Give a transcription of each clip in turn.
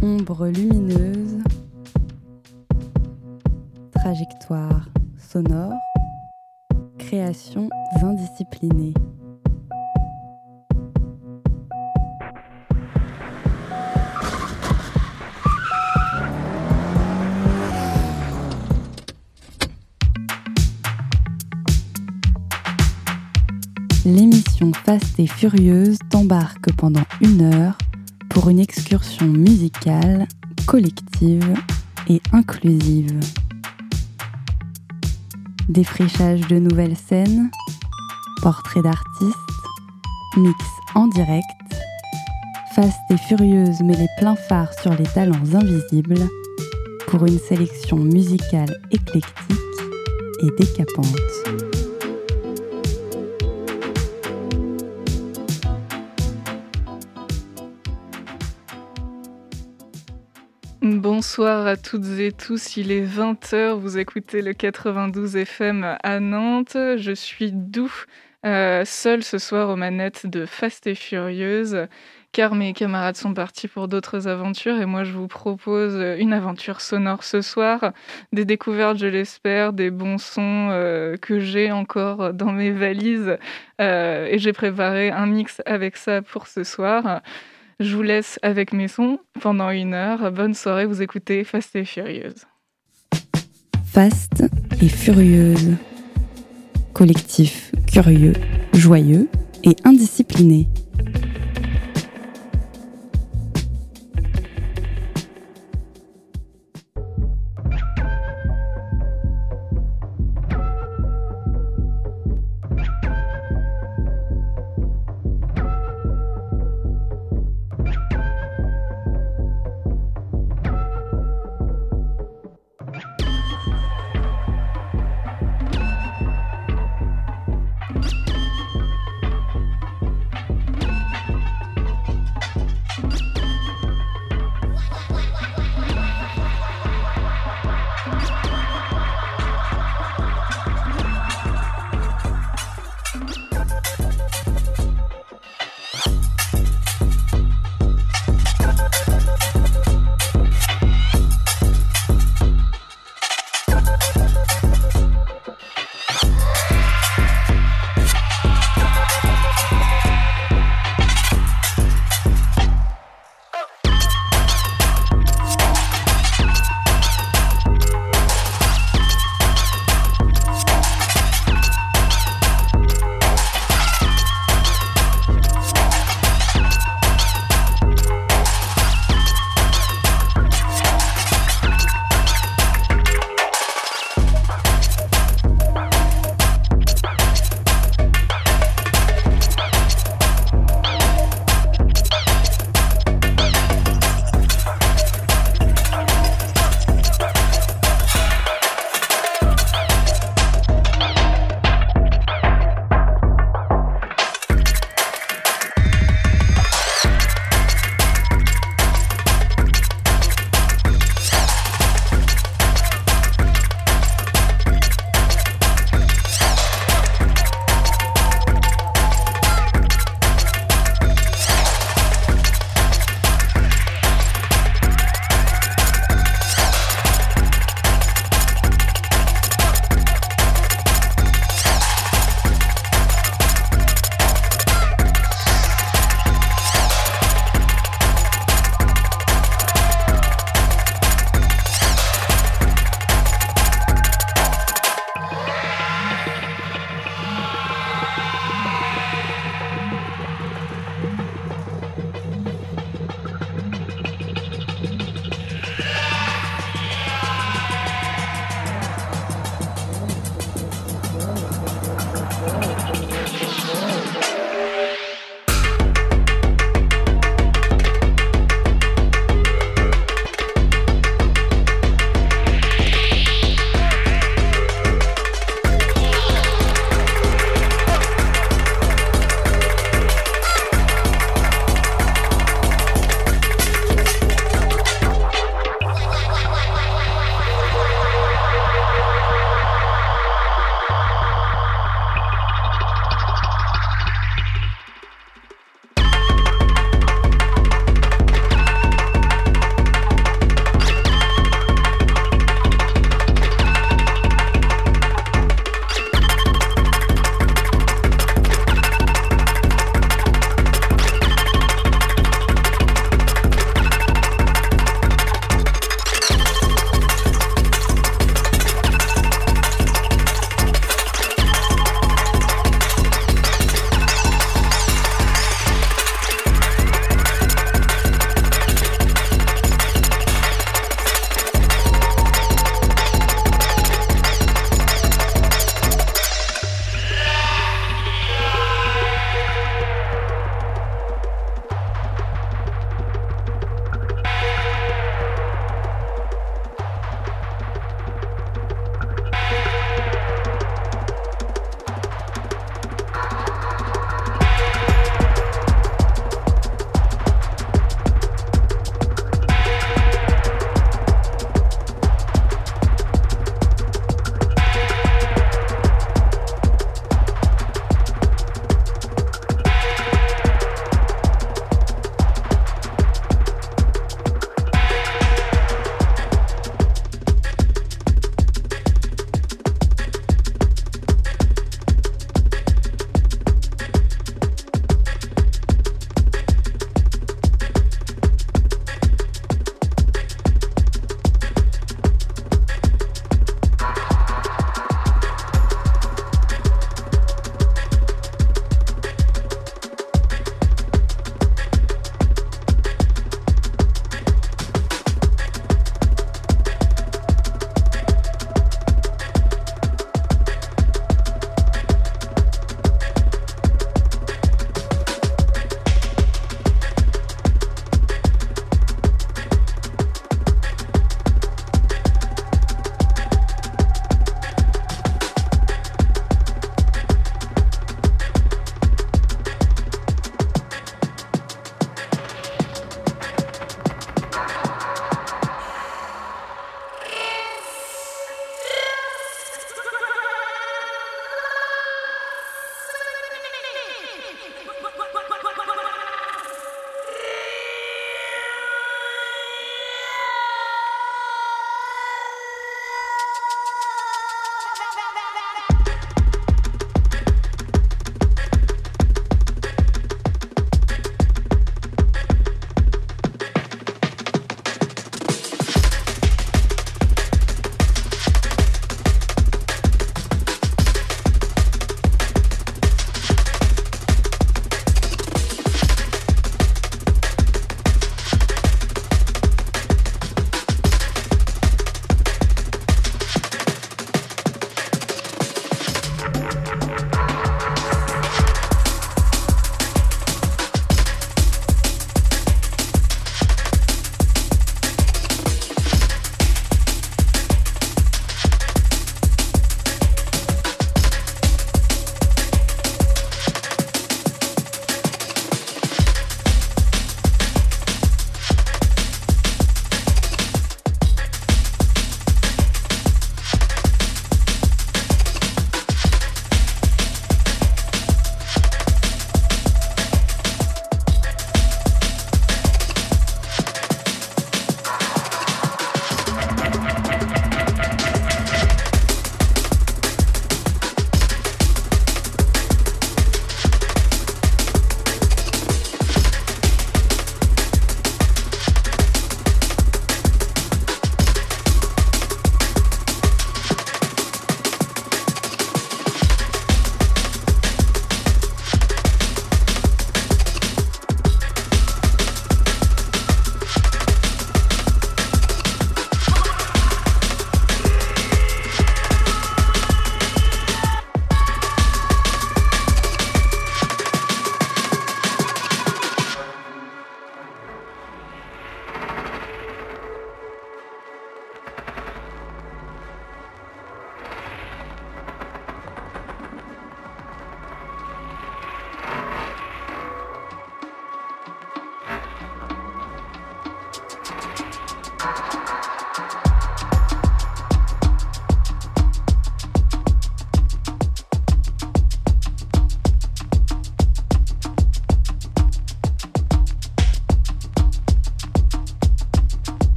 Ombre lumineuse, trajectoire sonore, créations indisciplinées. L'émission Fast et Furieuse t'embarque pendant 1 heure pour une excursion musicale, collective et inclusive. Défrichage de nouvelles scènes, portraits d'artistes, mix en direct, Fast et Furieuse met les pleins phares sur les talents invisibles pour une sélection musicale éclectique et décapante. Bonsoir à toutes et tous, il est 20h, vous écoutez le 92 FM à Nantes. Je suis seule ce soir aux manettes de Fast et Furieuse, car mes camarades sont partis pour d'autres aventures et moi je vous propose une aventure sonore ce soir, des découvertes je l'espère, des bons sons que j'ai encore dans mes valises et j'ai préparé un mix avec ça pour ce soir. Je vous laisse avec mes sons pendant 1 heure. Bonne soirée, vous écoutez Fast et Furieuse. Fast et Furieuse. Collectif curieux, joyeux et indiscipliné.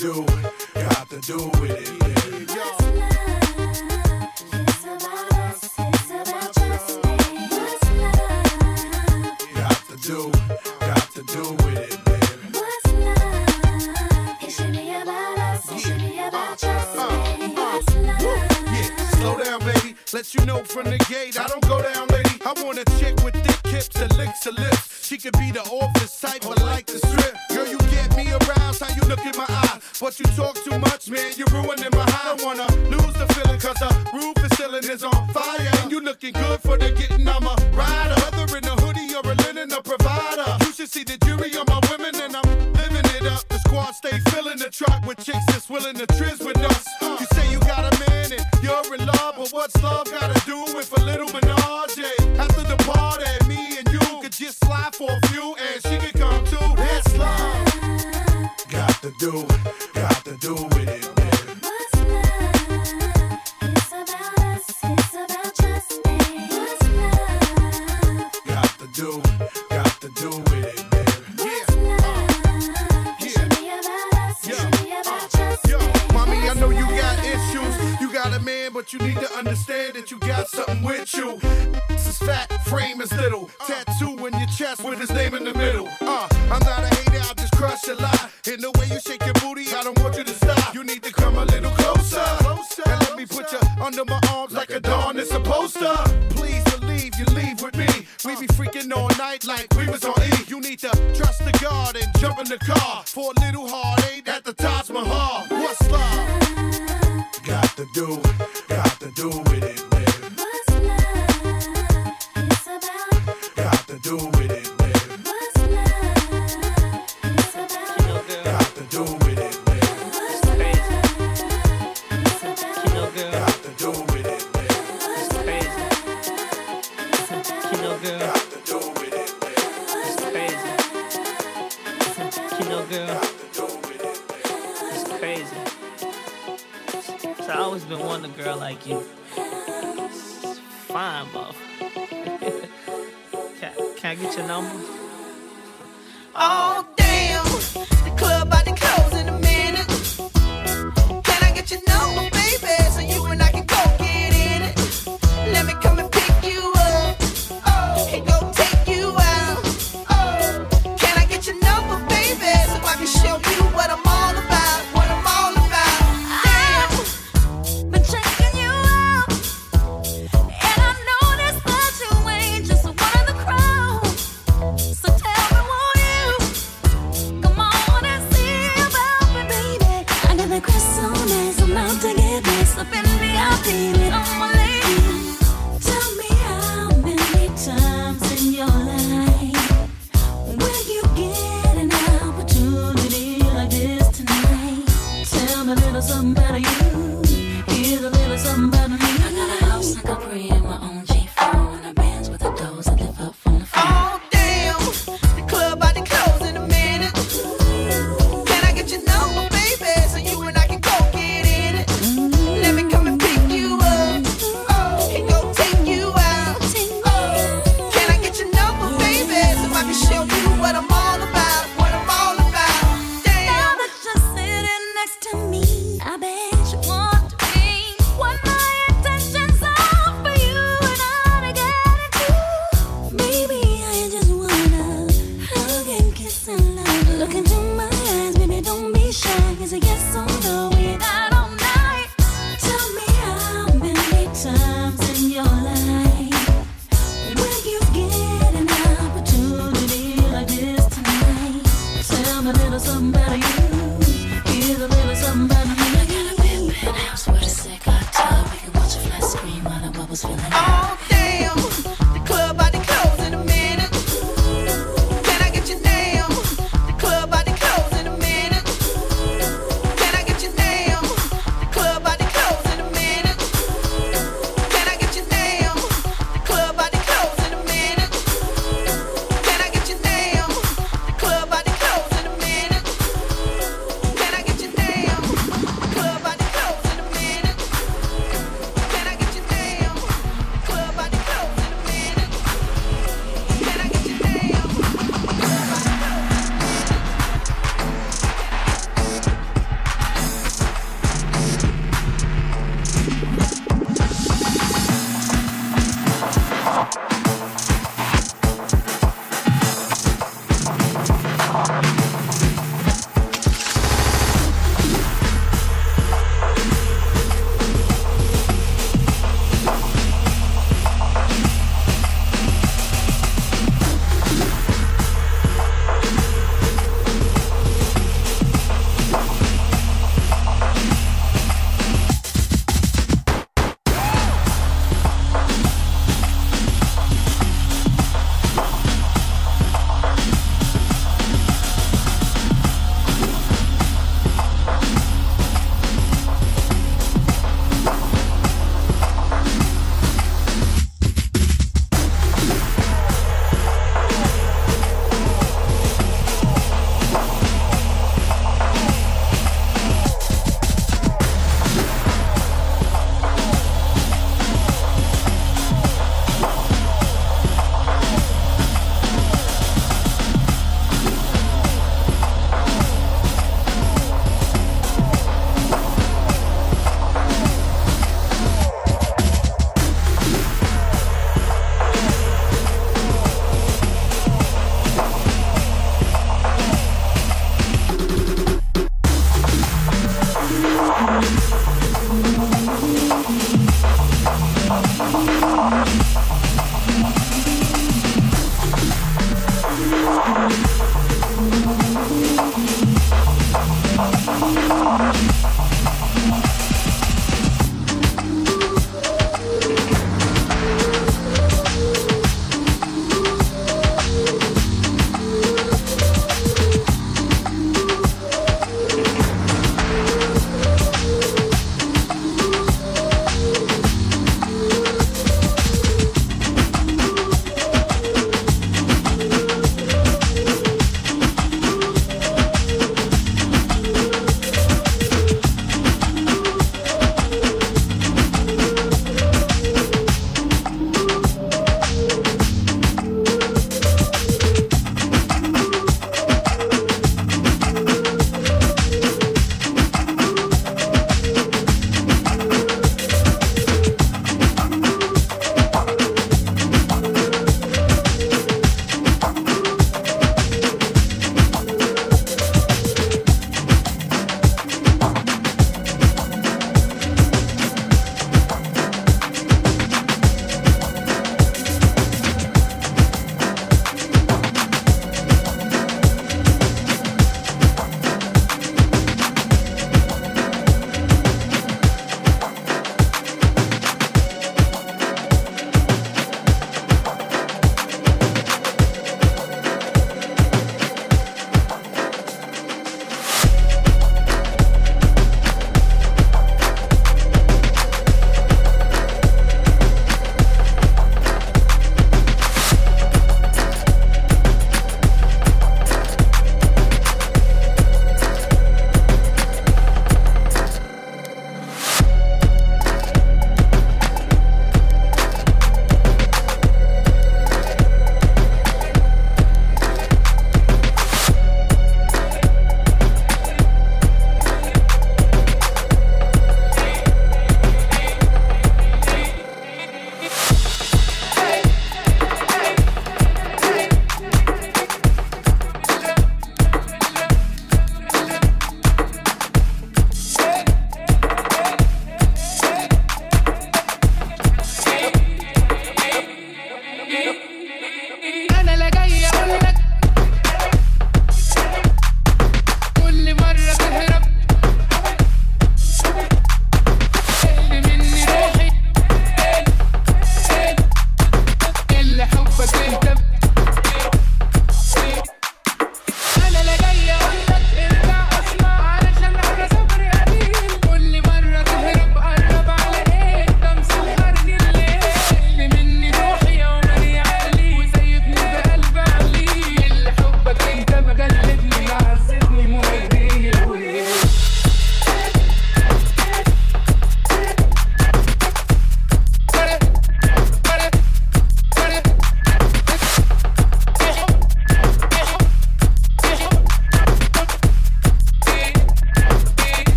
do with it, baby. Got to do with it, baby. What's love? It should be about us. It should be about us. What's love? Yeah, slow down, baby. Let you know from the gate, I don't go down, lady. I want a chick with thick hips and licks her lips. She could be the office type, but like the strip. Girl, you get me aroused, how you look in my eye. But you talk too much, man, you're ruining my high. I don't wanna lose the feeling, cause the roof is ceiling is on fire. And you looking good for the getting, I'm a rider. Whether in a hoodie or a linen, a provider. You should see the jury on my women, and I'm living it up. The squad stay filling the truck with chicks that's willing to trizz with us. You say you got a man and you're in love, but what's love gotta do with a little menage? After the party, me and you could just slide for a few, and she could come too. That's love. Got to do with it, baby. What's love? It's about us. It's about trust me. What's love? Got to do with it, baby. What's love? It should be about us. It should be about trust me. Yo, mommy, I know you got issues. You got a man, but you need to understand that you got something with you. This is fat, frame is little. Tattoo in your chest with his name in the middle. I'm not a hater, I'll just crush a lie. In the way you shake your booty, I don't want you to stop. You need to come a little closer. And let me put you under my arms like a dawn is supposed to. Please believe you leave with me. We be freaking all night like we was on E. You need to trust the God and jump in the car for a little heartache at the Taj Mahal. What's love? Got to do with it, baby. What's love? It's about. Got to do with it, baby. What's love? It's about. Got to do with it, baby. What's love? It's about. Got to do with it, baby. What's love? It's about. Got to do with it, baby. It's crazy. You know, girl, Got to do with it, baby. it's crazy. So I always been wanting a girl like you. It's fine, buff. Can I get your number? Oh, damn. The club about to close in a minute. Can I get your number, baby? So you and I can go get in it. Let me come and pick you up. Oh, and go take you out. Oh, can I get your number, baby? So I can show you what I'm all about. What I'm all about. Damn. Been checking you out, and I noticed that you ain't just one of the crowd. So tell me, won't you come on and see about me, baby? I got the Chris so nice, I'm out to get mixed up in VIP with all my ladies. Tell me how many times in your life will you get an opportunity like this tonight? Tell me a little something about you. Here's a little something about me. I got a house like a crib, my own G4, and a bands with the doors that lift up from the floor. Oh, damn. The club about to close in a minute. Can I get your number, baby? So you and I can go get in it. Let me come and pick you up. Oh, and go take you out. Oh, can I get your number, baby? So I can show you what I'm all about. What I'm all about. Now Damn. that you're sitting next to me, I bet you want to be what my intentions are for you and I to get into. Baby, I just wanna hug and kiss and love. Look into my eyes, baby, don't be shy. Is it yes or no? We got all night. Tell me how many times in your life will you get an opportunity like this tonight? Tell me a little something about you. Here's a little something about me. I got a big penthouse with a sick hot tub. We can watch a flat screen while the bubbles filling up. Oh, damn. The club about to close in a minute. Can I get your name? The club about to close in a minute. Can I get your name? The club about to close in a minute. Can I get your name? The club about to close in a minute. Can I get your name? The club about to close in a minute. Can I get your name? The club about to close in a minute. Can I get your name? The club about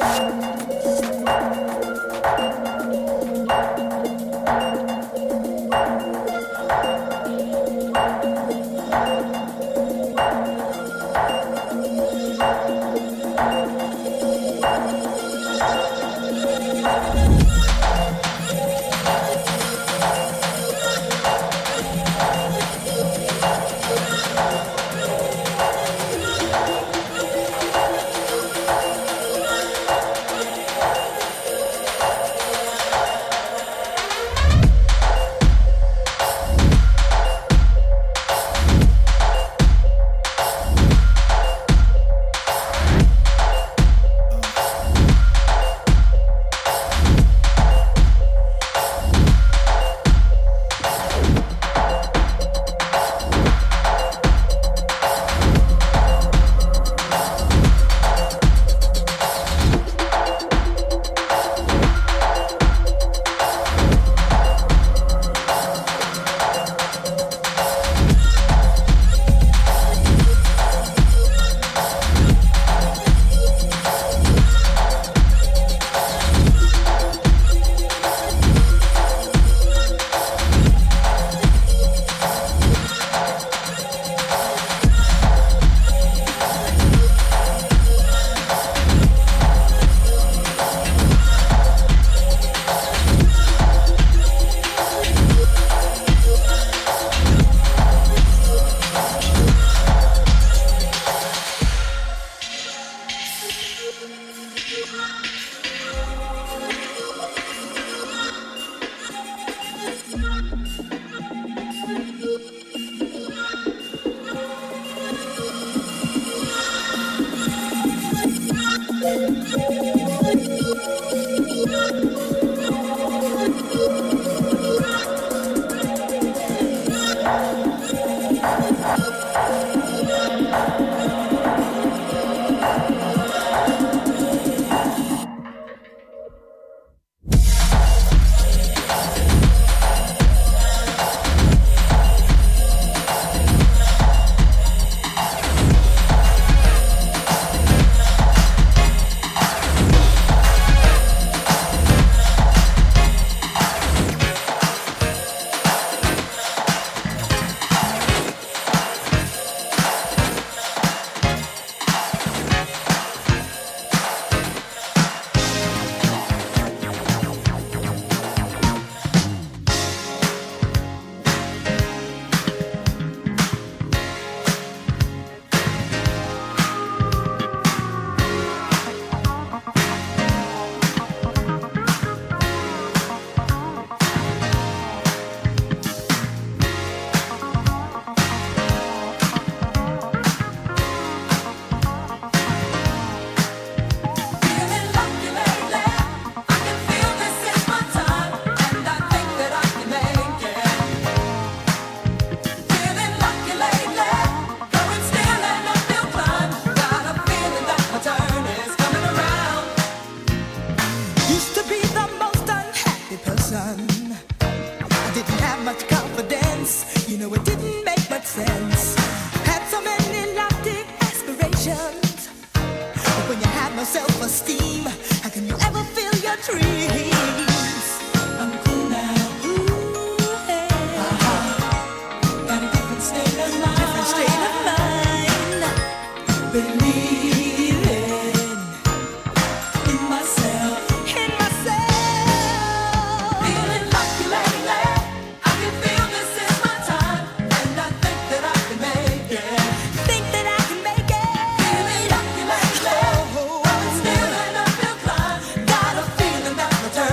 Got a feeling that my turn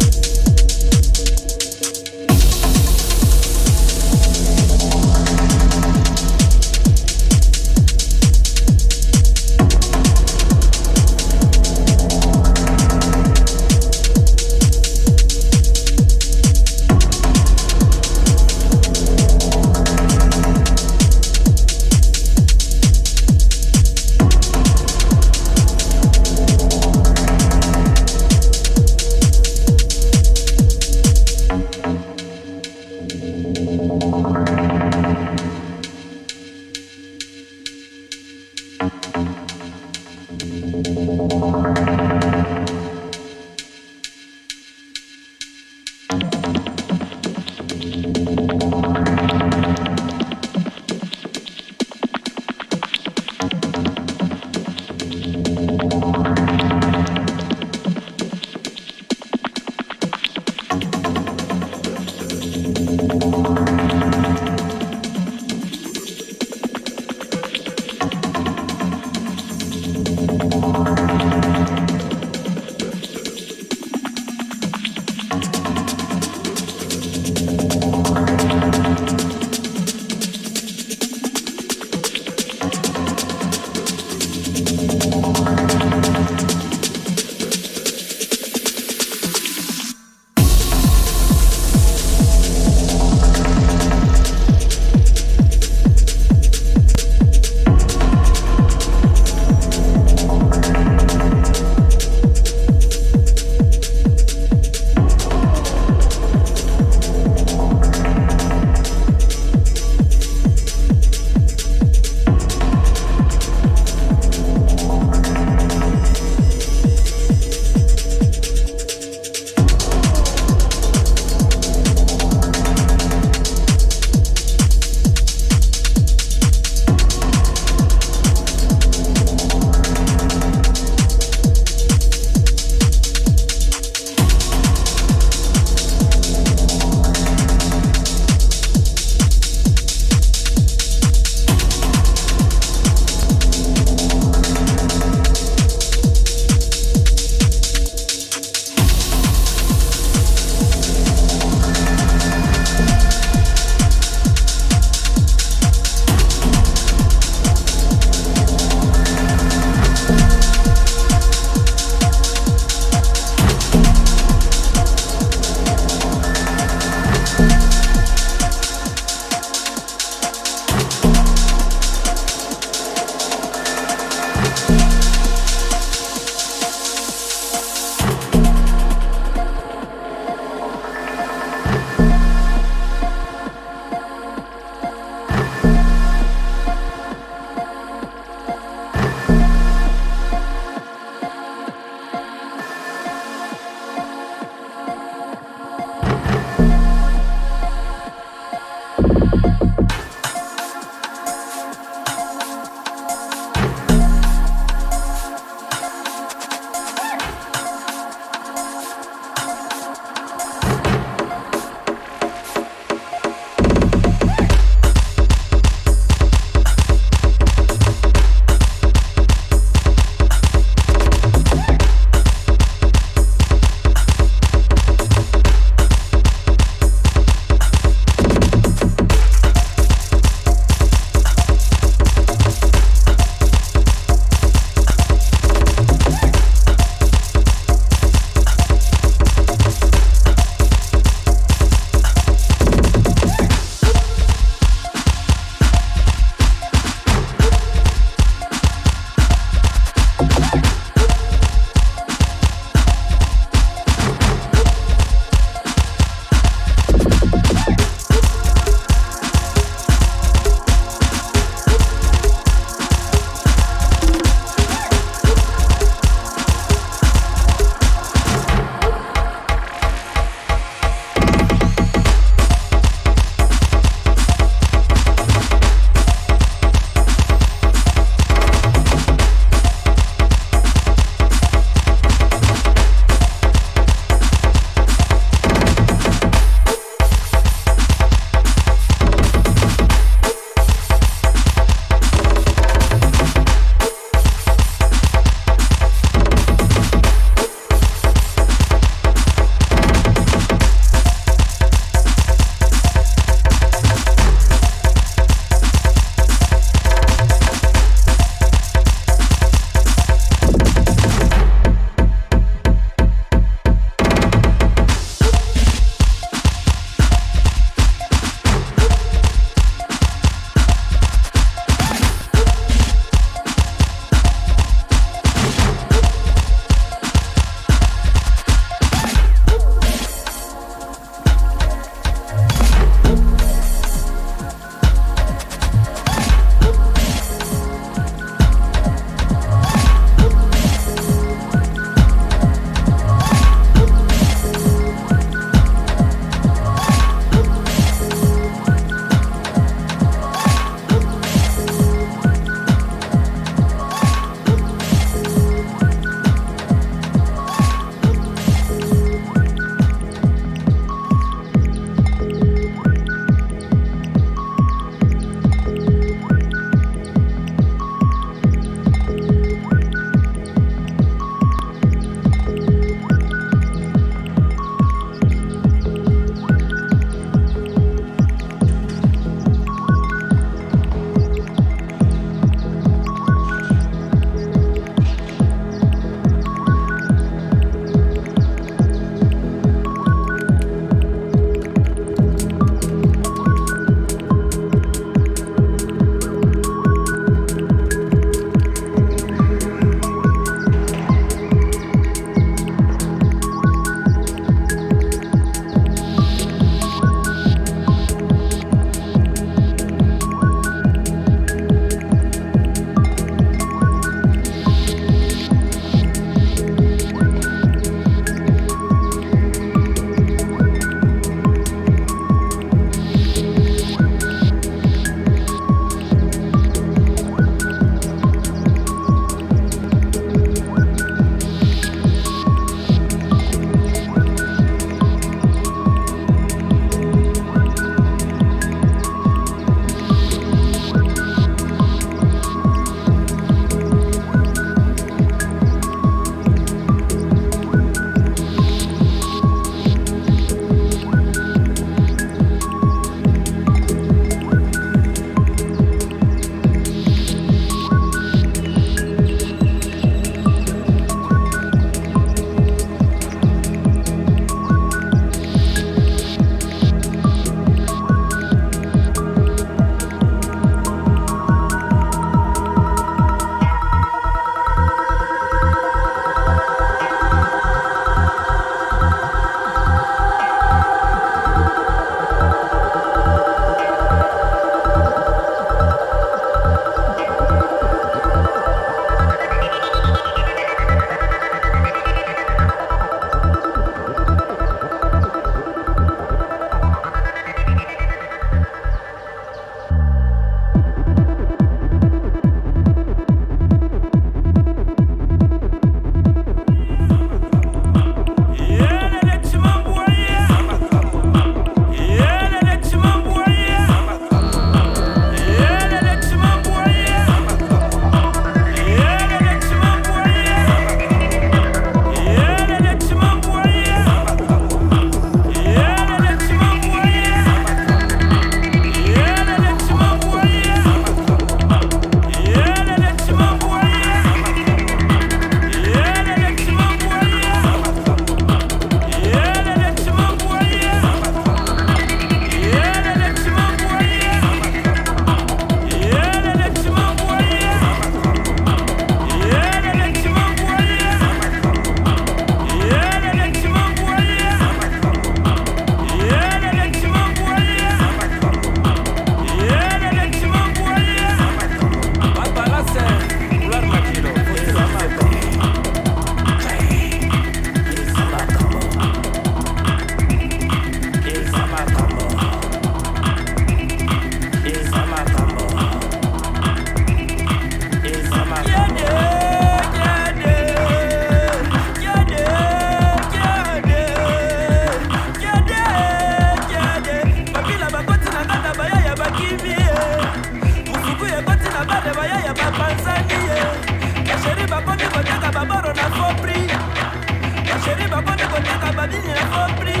baboro na faux prix. Ma chérie, va côté ta babine, na faux prix.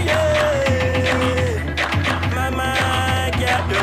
Maman, gado.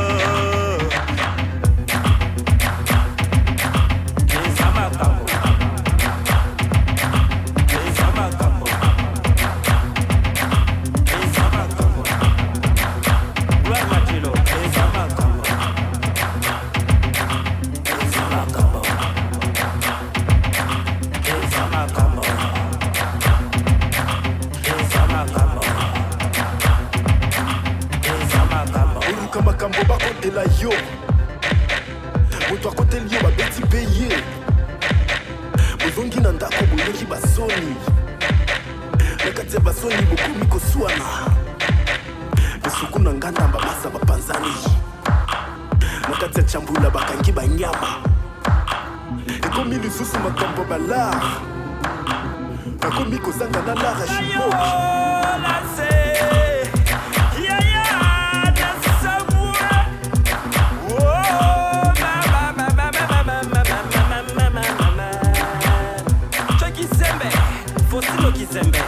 Makambo bakotela yo moto akoteli yo babeti mpe ye bozongi na ndako boyoki basoni na kati ya basoni bokomi koswana besuku na nganda babasa bapanzani na kati ya chambula bakangi banyama ekomi lisusu makambo balar nakomi kozanga na lara shimoki Kizembe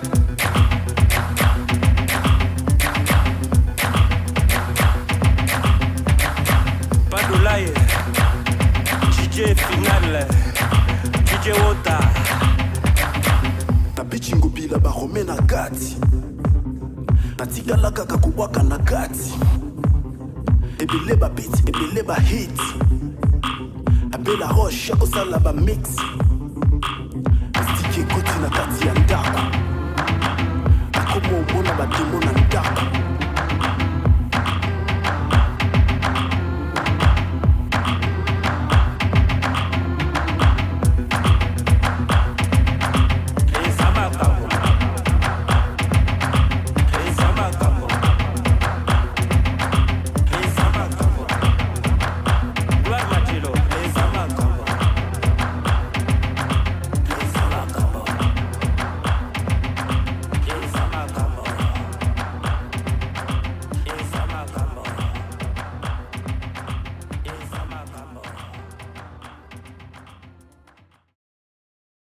Padulaye DJ Final DJ Wota Tabichingo bila barome na gati Natigala kaka kubwaka na gati Ebele ba beat, ebele ba hit Abela roche, akosala ba mix Koti na kati ya ndako Akomo omona bademo na ndako